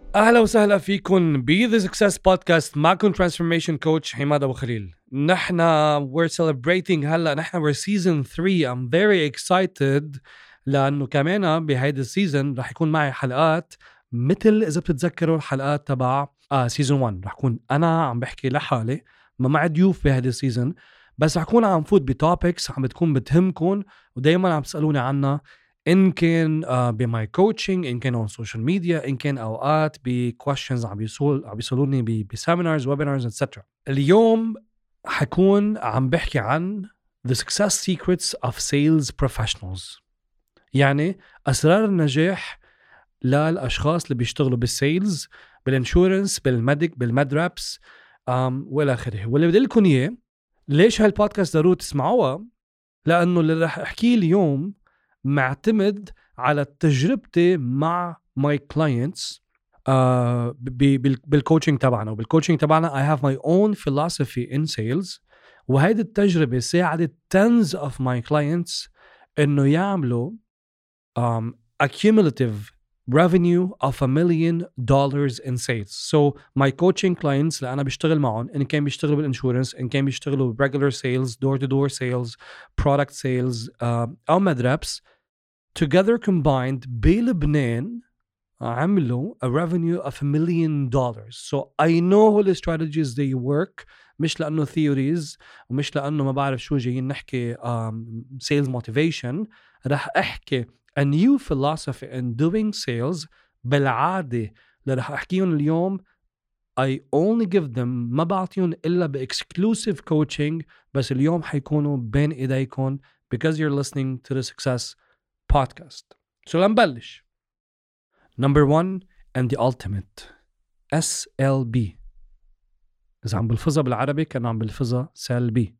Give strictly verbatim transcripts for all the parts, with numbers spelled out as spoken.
أهلا وسهلا فيكم ب The Success Podcast. معكم Transformation Coach حماد أبو خليل. نحن we're celebrating هلا نحن we're season three. I'm very excited لأنه كمان بهيدا السيزن رح يكون معي حلقات مثل إذا بتتذكروا الحلقات تبع آه season one. رح يكون أنا عم بحكي لحالي ما مع ضيوف بهيدا السيزن، بس رح يكون عم فوت بتوبكس عم بتكون بتهمكم ودايما عم تسألوني عنها، إن كان uh, بماي كوتشنج، إن كان on social media، إن كان أوقات بquestions عم بيسول عم بيسألوني بسيمينارز ويبينارز إتسترا. اليوم حكون عم بحكي عن the success secrets of sales professionals، يعني أسرار النجاح للأشخاص اللي بيشتغلوا بالسيلز، بالانشورنس، بالميديك، بالمدرابس um, والى آخره. واللي بدي لكم إياه ليش هالبودكاست ضروري تسمعوها، لأنه اللي رح أحكيه اليوم معتمد على تجربتي مع my clients uh, بالكوتشنج تبعنا. وبالكوتشنج تبعنا I have my own philosophy in sales، وهيدي التجربة ساعدت tens of my clients إنه يعملوا um, accumulative revenue of a million dollars in sales. So my coaching clients اللي أنا بشتغل معهم، إن كان بيشتغلوا بالإنشورنس، إن كان بيشتغلوا regular sales، door to door sales، product sales uh, أو مدرابس، together combined بلبنان عملوا a revenue of a million dollars. So I know all the strategies they work، مش لأنه theories ومش لأنه ما بعرف شو جايين نحكي um, sales motivation. رح أحكي a new philosophy in doing sales بالعادة اللي رح أحكيهم اليوم. I only give them، ما بعطيهم إلا ب-exclusive coaching، بس اليوم حيكونوا بين إيديكم because you're listening to the Success Podcast. So لنبلش. Number one and the ultimate S L B. إذا عم بلفظها بالعربي كان عم بلفظها سلبي.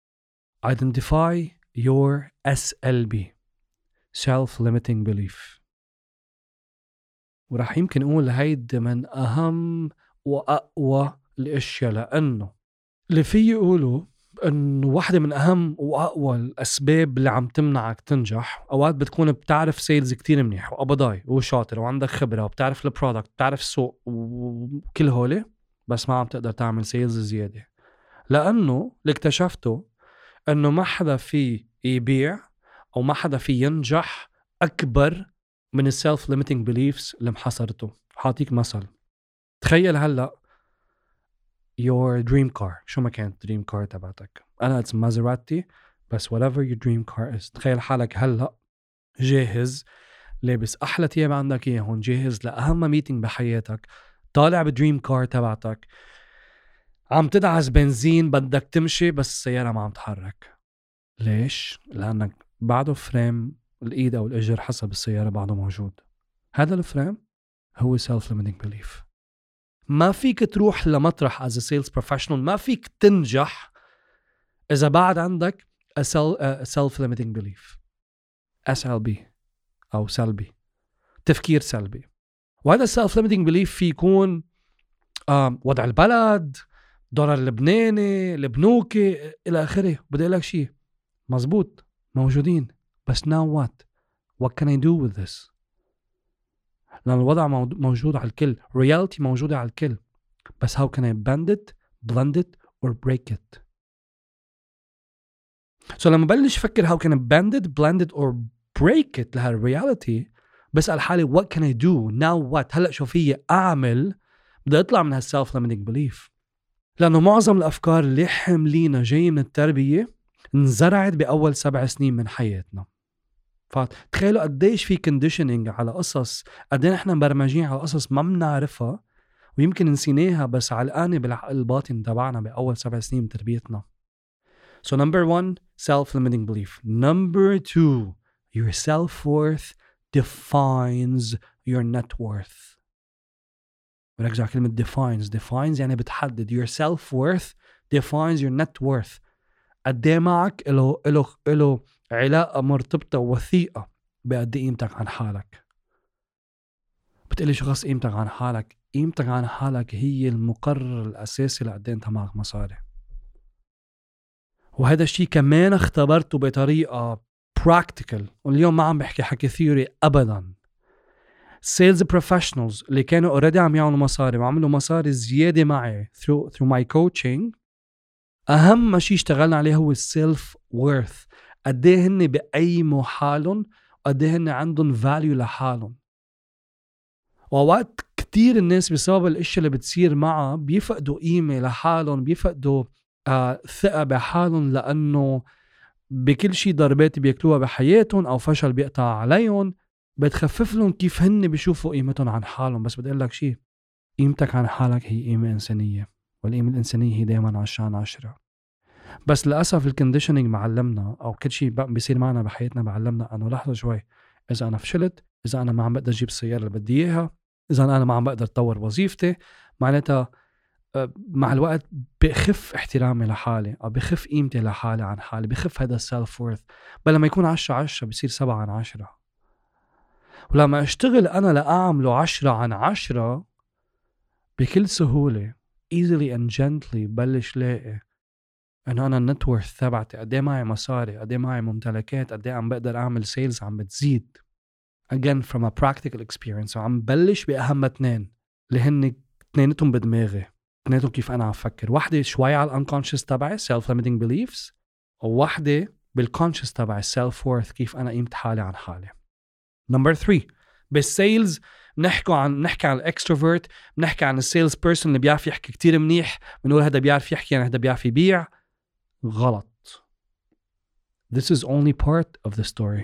Identify your S L B، self-limiting belief. ورح يمكن أقول هيدا من أهم وأقوى الأشياء، لأنه اللي فيه يقولوا أنه واحدة من أهم وأقوى الأسباب اللي عم تمنعك تنجح. أوقات بتكون بتعرف سيلز كتير منيح وأبضاي وشاطر وعندك خبرة وبتعرف البرودكت، بتعرف السوق وكل هولي، بس ما عم تقدر تعمل سيلز زيادة، لأنه اللي اكتشفته أنه ما حدا فيه يبيع أو ما حدا فيه ينجح أكبر من السيلف ليميتنج بيليفز اللي محصرته. حاطيك مثل، تخيل هلأ your dream car، شو ما كانت dream car تبعتك. أنا it's Maserati، بس whatever your dream car is، تخيل حالك هلأ جاهز، لابس أحلى تياب عندك إياهن، جاهز لأهم ميتينج بحياتك، طالع بدريم كار تبعتك، عم تدعس بنزين، بدك تمشي بس السيارة ما عم تحرك. ليش؟ لأنك بعده فريم الإيد أو الإجر حسب السيارة بعده موجود. هذا الفريم هو self-limiting belief. ما فيك تروح لمطرح as a sales professional، ما فيك تنجح إذا بعد عندك a self-limiting belief، S L B أو سلبي، تفكير سلبي. وهذا self-limiting belief في يكون وضع البلد، دولار اللبناني، البنوكي إلى آخره. بدي أقول لك شيء مزبوط، موجودين، بس now what what can I do with this؟ لأن الوضع موجود على الكل، reality موجودة على الكل، بس how can I bend it, blend it or break it؟ so لما بلش فكر how can I bend it, blend it or break it لها reality، بسأل حالي what can I do now what، هلأ شو فيي أعمل؟ بدي أطلع من هالself limiting belief. لأنه معظم الأفكار اللي حملينا جاي من التربية انزرعت بأول سبع سنين من حياتنا. فتخيلوا قديش في conditioning على قصص، قديش احنا مبرمجين على قصص ما بنعرفها ويمكن نسيناها، بس علقانة بالعقل الباطن تبعنا بأول سبع سنين من تربيتنا. So number one, self-limiting belief. Number two, your self-worth defines your net worth. ورجع كلمة defines. defines يعني بتحدد. your self-worth defines your net worth. قديه معك إله, إله, إله علاقة مرتبطة وثيقة بقد قيمتك عن حالك. بتقلي شو خاص قيمتك عن حالك؟ قيمتك عن حالك هي المقرر الأساسي لقد انت معك مصاري. وهذا الشيء كمان اختبرته بطريقة practical، واليوم ما عم بحكي حكي ثيوري أبدا. sales professionals اللي كانوا already عم يعملوا مصاري وعملوا مصاري زيادة معي through, through my coaching. أهم شيء اشتغلنا عليه هو self worth. قديه هن بقيموا حالهم وقديه هن عندهم value لحالهم. ووقت كتير الناس بسبب الاشياء اللي بتصير معها بيفقدوا قيمة لحالهم، بيفقدوا آه ثقة بحالهم، لأنه بكل شيء ضربات بياكلوها بحياتهم أو فشل بيقطع عليهم بتخفف لهم كيف هن بيشوفوا قيمتهم عن حالهم. بس بدي أقول لك شيء، قيمتك عن حالك هي قيمة إنسانية، والقيمة الإنسانية هي دائما عشرة عشرة. بس للأسف الكونديشنينج معلمنا، أو كل شيء بيصير معنا بحياتنا معلمنا أنه لحظة شوي، إذا أنا فشلت، إذا أنا ما عم بقدر أجيب السيارة اللي بدي إياها، إذا أنا ما عم بقدر أطور وظيفتي، معناتها مع الوقت بخف احترامي لحالي أو بخف قيمتي لحالي عن حالي، بخف هذا السيلف وورث. بل لما يكون عشرة عشرة بيصير سبعة عن عشرة. ولما أشتغل أنا لأعمله عشرة عن عشرة بكل سهولة easily and gently بلش لاقي أنه أنا النتورث تبعتي قدي معي مصاري، قدي معي ممتلكات، قدي عم بقدر أعمل سيلز عم بتزيد. again from a practical experience. وعم بلش بأهم اثنين اللي هن اثنينتهم بدماغي، اثنينتهم كيف أنا عم فكر. واحدة شوي على الانكونشس تبعي self limiting beliefs، وواحدة بالكونشس تبعي self worth، كيف أنا قيمت حالي عن حالي. number three بالسيلز نحكي عن نحكي عن الاكستروفيرت، بنحكي عن السيلز بيرسون اللي بيعرف يحكي كتير منيح، بنقول هذا بيعرف يحكي يعني هذا بيعرف يبيع. غلط. this is only part of the story.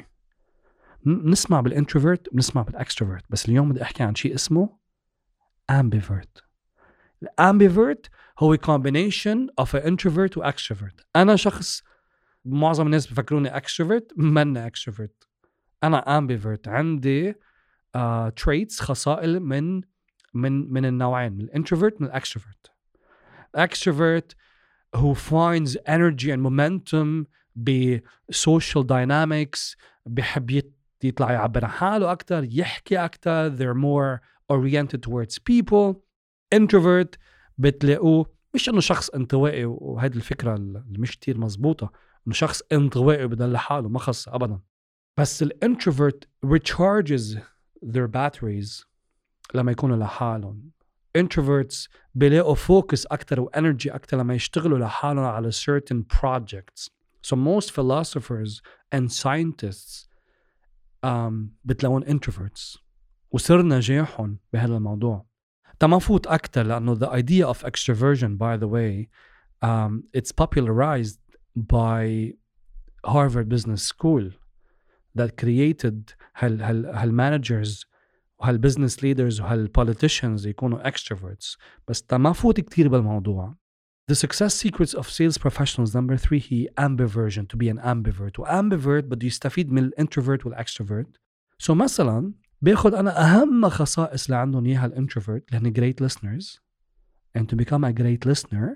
نسمع بالانتروفيرت بنسمع بالاكستروفيرت، بس اليوم بدي احكي عن شيء اسمه ambivert. الامبيفيرت هو combination of an introvert و extrovert. انا شخص معظم الناس بفكروني extrovert، مني extrovert، انا ambivert. عندي uh, traits خصائل من من من النوعين، من الانتروفيرت من الاكستروفيرت. extrovert who finds energy and momentum ب social dynamics، بحب يطلع يعبر عن حاله أكتر، يحكي أكتر، they're more oriented towards people. introvert بتلاقوه مش إنه شخص انطوائي، وهذه الفكرة اللي مش كتير مزبوطة، إنه شخص انطوائي بدل حاله، ما خص أبدا. بس الانتروفيرت recharges their batteries لما يكونوا لحالهم. introverts بيلاقوا focus أكتر و energy أكتر لما يشتغلوا لحالهم على certain projects. So most philosophers and scientists um, بتلاقون introverts، وسر نجاحهم بهذا الموضوع. تما فوت أكتر لأنه the idea of extroversion, by the way, um, it's popularized by Harvard Business School that created هال هال هال managers وهال business leaders وهال politicians يكونوا extroverts. بس تما فوت كتير بالموضوع. The success secrets of sales professionals number three هي ambiversion, to be an ambivert. و ambivert بده يستفيد من الانتروفيرت والextrovert. So مثلا باخد أنا أهم خصائص اللي عندهم إياها الانتروفيرت اللي هن great listeners, and to become a great listener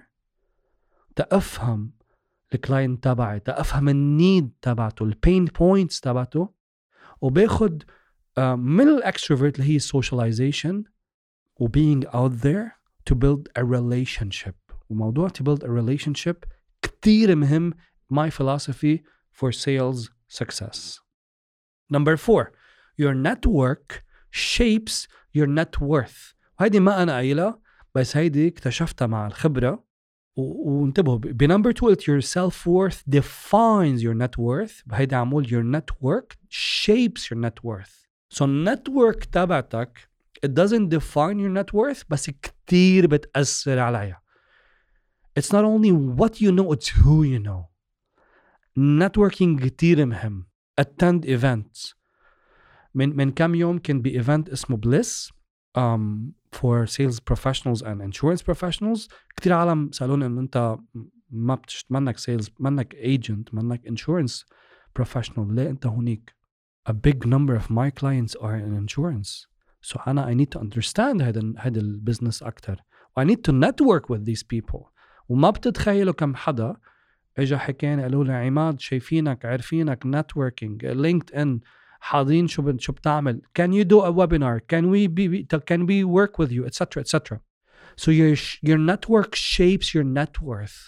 تأفهم الكلاينت تبعي، تأفهم النيد تبعته، البين بوينتس تبعته. وباخد uh, من الاكستروفيرت اللي هي socialization و being out there to build a relationship. وموضوع to build a relationship كتير مهم. my philosophy for sales success. number four, your network shapes your net worth. وهيدي ما أنا قايلة، بس هيدي اكتشفتها مع الخبرة. وانتبهوا بنمبر two قلت your self worth defines your net worth، بهيدي عمول your network shapes your net worth. so network تبعتك it doesn't define your net worth، بس كتير بتأثر عليها. it's not only what you know, it's who you know. networking كتير مهم. attend events. من من كم يوم كان بي event اسمه Bliss um, for sales professionals and insurance professionals. كتير عالم سألوني إنه أنت ما بتشت منك sales، منك agent، منك insurance professional، ليه أنت هونيك؟ A big number of my clients are in insurance, so أنا I need to understand هذا هذا البزنس أكتر. I need to network with these people. وما بتتخيلوا كم حدا إجا حكينا قالوا لي عماد شايفينك عارفينك networking LinkedIn حاضرين شو شو بتعمل، can you do a webinar, can we be can we work with you, etc etc. so your your network shapes your net worth.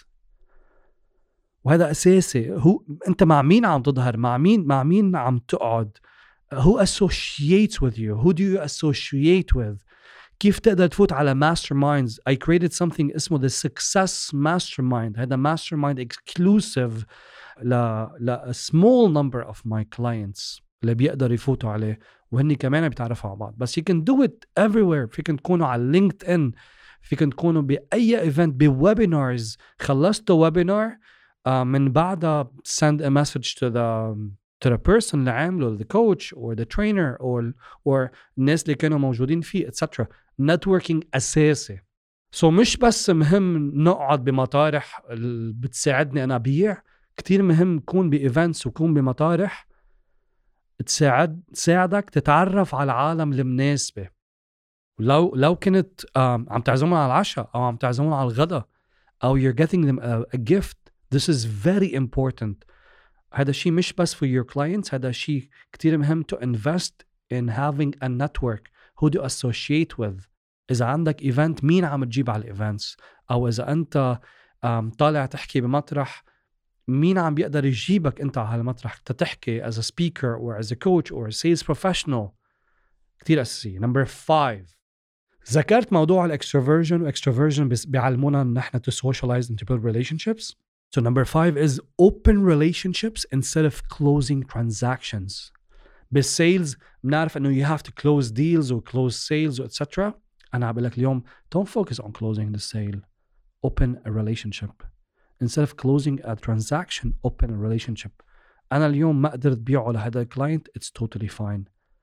وهذا أساسي. هو أنت مع مين عم تظهر، مع مين مع مين عم تقعد، who associates with you, who do you associate with. كيف تقدر تفوت على masterminds. I created something اسمه the success mastermind. هذا mastermind exclusive ل ل a small number of my clients اللي بيقدر يفوتوا عليه وهني كمان بيتعرفوا على بعض. بس you can do it everywhere. فيكن تكونوا على لينكد ان، فيكن تكونوا بأي ايفنت، بويبينارز. خلصتوا ويبينار uh, من بعدها send a message to the to the person اللي عامله, the coach or the trainer or or الناس اللي كانوا موجودين فيه et cetera. networking أساسي. so مش بس مهم نقعد بمطارح بتساعدني أنا أبيع، كتير مهم كون بإيفنتس وكون بمطارح تساعد تساعدك تتعرف على العالم المناسبة. لو لو كنت عم تعزمون على العشاء أو عم تعزمون على الغداء أو you're getting them a, a gift, this is very important. هذا شيء مش بس for your clients، هذا شيء كتير مهم to invest in having a network. who do you associate with. إذا عندك event مين عم تجيب على الإيفنتس، أو إذا أنت طالع تحكي بمطرح مين عم بيقدر يجيبك أنت على المطرح تتحكي as a speaker or as a coach or a sales professional. كتير أساسي. number five، ذكرت موضوع الاكستروفيرجن واكستروفيرجن بيعلمونا ان احنا to socialize and to build relationships. So number five is open relationships instead of closing transactions. بالسيلز بنعرف انه you have to close deals or close sales et cetera. انا عم بقول لك اليوم don't focus on closing the sale, open a relationship instead of closing a transaction. open a relationship. انا اليوم ما قدرت بيعه لهذا الكلاينت, it's totally fine.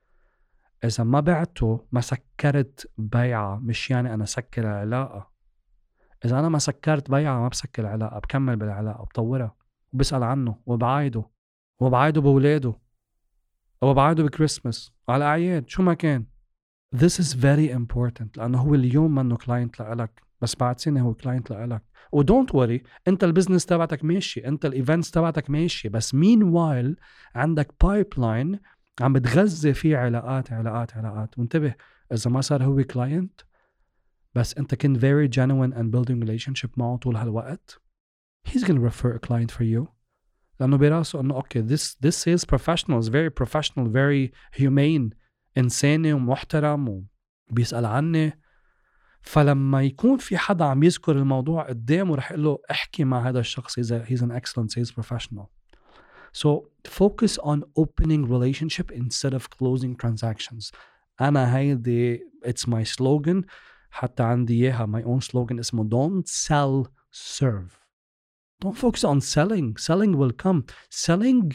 إذا ما بعته ما سكرت بيعة مش يعني أنا سكر العلاقة. إذا أنا ما سكرت بيعة ما بسكر العلاقة، بكمل بالعلاقة وبطورها وبسأل عنه وبعايده وبعايده بولاده وبعايده بكريسماس وعلى أعياد شو ما كان. This is very important لأنه هو اليوم منه كلاينت لألك بس بعد سنة هو كلاينت لألك. و don't worry أنت البزنس تبعتك ماشي، أنت الإيفنتس تبعتك ماشي، بس meanwhile عندك pipeline عم بتغذي فيه علاقات علاقات علاقات. وانتبه إذا ما صار هو كلاينت بس أنت كنت very genuine and building relationship معه طول هالوقت, he's gonna refer a client for you. لأنه براسه أنه okay this this sales professional is very professional, very humane, إنساني ومحترم وبيسأل عني. فلما يكون في حدا عم يذكر الموضوع قدامه رح يقول له احكي مع هذا الشخص, he's, a, he's an excellent sales professional. So focus on opening relationship instead of closing transactions. أنا هيدي it's my slogan, حتى عندي إياها my own slogan اسمه don't sell, serve. Don't focus on selling. Selling will come. Selling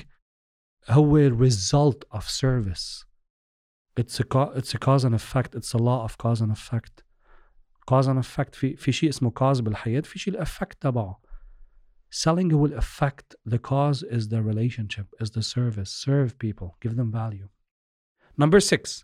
هو result of service. It's a it's a cause and effect. It's a law of cause and effect. Cause and effect. في في شيء اسمه cause بالحياة, في شيء الeffect تبعه. Selling will affect. The cause is the relationship, is the service. Serve people, give them value. Number six,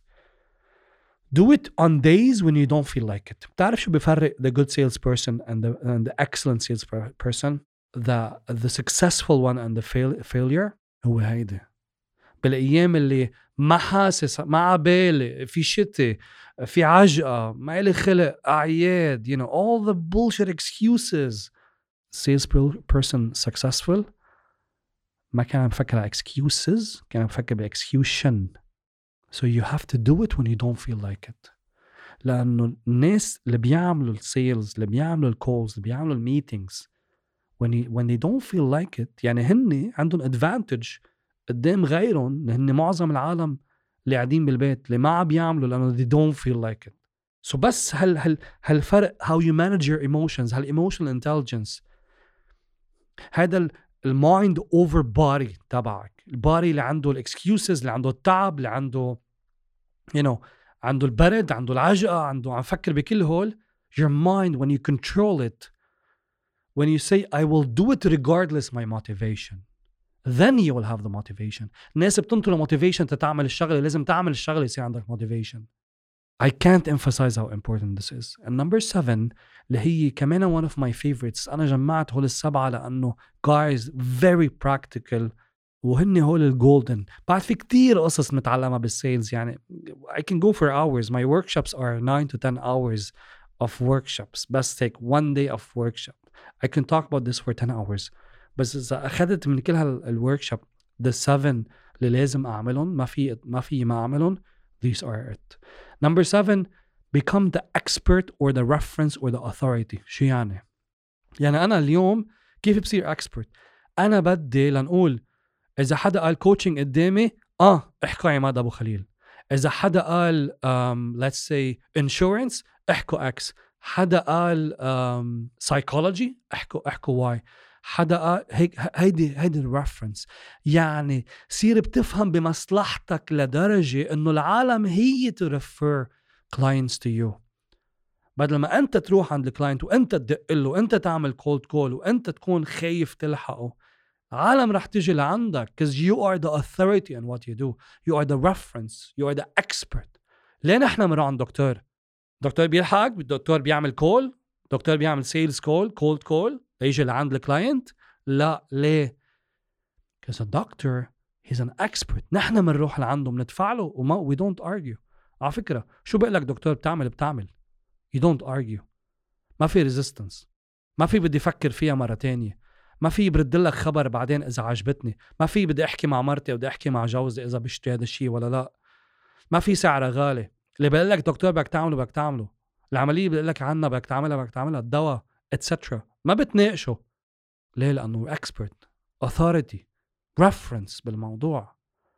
do it on days when you don't feel like it. بتعرف شو بيفرق the good salesperson and the and the excellent salesperson, the the successful one and the fail, failure هو هيدا. بالأيام اللي ما حاسس ما عبالي في شتي في عجقة ما إلي خلق أعياد, you know, all the bullshit excuses. salesperson successful ما كان عم بفكر على excuses, كان عم بفكر ب execution. so you have to do it when you don't feel like it. لأنه الناس اللي بيعملوا السيلز, اللي بيعملوا الكولز, اللي بيعملوا الميتينجز when, you, when they don't feel like it, يعني هن عندهم advantage قدام غيرهم, لأن معظم العالم اللي قاعدين بالبيت اللي ما عم بيعملوا لأنه they don't feel like it. so بس هل هل هالفرق how you manage your emotions, هال emotional intelligence, هذا المايند اوفر باري تبعك, الباري اللي عنده الاكسكيوزز, اللي عنده التعب, اللي عنده you know عنده البرد, عنده العجقة, عنده عم فكر بكل هول. your mind when you control it, when you say I will do it regardless my motivation, then you will have the motivation. الناس بتنطر motivation تتعمل الشغلة, لازم تعمل الشغلة يصير عندك motivation. I can't emphasize how important this is. And number seven اللي هي كمان one of my favorites, أنا جمعت هول السبعة لأنه guys very practical وهن هول الجولدن. بعد في كتير قصص متعلمة بالسيلز, يعني I can go for hours. My workshops are nine to ten hours of workshops. بس take one day of workshop. I can talk about this for ten hours. بس إذا أخذت من كل هالworkshop the seven اللي لازم أعملهم، ما في ما في ما أعملهم. These are it. Number seven, become the expert or the reference or the authority. شو يعني؟ يعني أنا اليوم كيف بصير expert؟ أنا بدي لنقول إذا حدا قال coaching قدامي آه احكوا عماد أبو خليل. إذا حدا قال um, let's say insurance احكوا X. حدا قال um, psychology احكوا احكوا Y. حدا قال هيك هيدي هيدي الريفرنس. يعني صير بتفهم بمصلحتك لدرجة إنه العالم هي ترفر clients to you. بدل ما أنت تروح عند الكلاينت وأنت تدق له وأنت تعمل cold call وأنت تكون خايف تلحقه، عالم رح تيجي لعندك because you are the authority in what you do. You are the reference. You are the expert. ليه نحن مرة عند دكتور؟ دكتور بيلحقك، الدكتور بيعمل كول، دكتور بيعمل سيلز كول، cold call يجي لعند الكلاينت. لا ليه؟ because a doctor he's an expert. نحن منروح لعنده بندفع له وما we don't argue. على فكرة شو بقلك دكتور بتعمل بتعمل. You don't argue. ما في resistance. ما في بدي أفكر فيها مرة تانية. ما في برد لك خبر بعدين إذا عجبتني. ما في بدي أحكي مع مرتي وبدي أحكي مع جوزي إذا بشتري هذا الشيء ولا لا. ما في سعر غالي. اللي بقول لك دكتور بدك تعمله بدك تعمله. العملية بقول لك عنها بدك تعملها بدك تعملها. الدواء etc. ما بتناقشه. ليه؟ لأنه expert, authority, reference بالموضوع.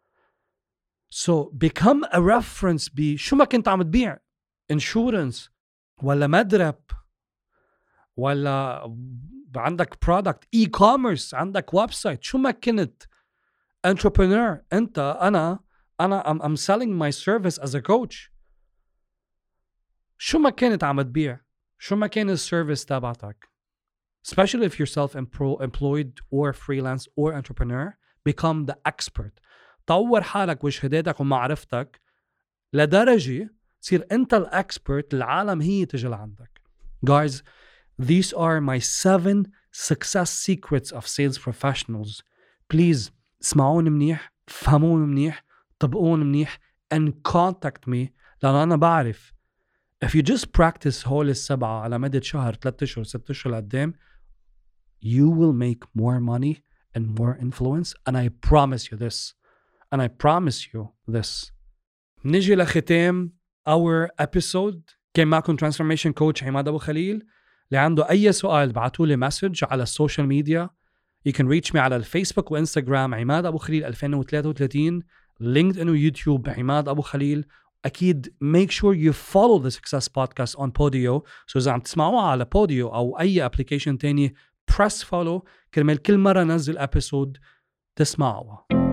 So become a reference بشو ما كنت عم تبيع. insurance ولا مدرب ولا عندك product e-commerce عندك ويب سايت شو ما كنت entrepreneur. انت انا انا I'm, I'm selling my service as a coach. شو ما كنت عم تبيع شو ما كان السيرفيس تبعتك especially if you're self-employed or freelance or entrepreneur, become the expert. طور حالك وشهاداتك ومعرفتك لدرجة تصير انت الاكسبرت. العالم هي تجي لعندك. Guys, these are my seven success secrets of sales professionals. Please اسمعون منيح، فهمون منيح، طبقون منيح and contact me. لأن أنا بعرف if you just practice هول السبعة على مدة شهر ثلاثة أشهر ستة أشهر لقدام you will make more money and more influence and I promise you this and I promise you this. نجي لختام our episode. كان معكم transformation coach عماد أبو خليل. اللي عنده أي سؤال بعتولي مسج على السوشيال ميديا. You can reach me على الفيسبوك وإنستغرام عماد أبو خليل ألفين وثلاثة وثلاثين، لينكدين ويوتيوب عماد أبو خليل. أكيد make sure you follow the Success Podcast on Podio. So إذا عم تسمعوها على Podio أو أي application تاني press follow كرمال كل مرة نزل episode تسمعوها.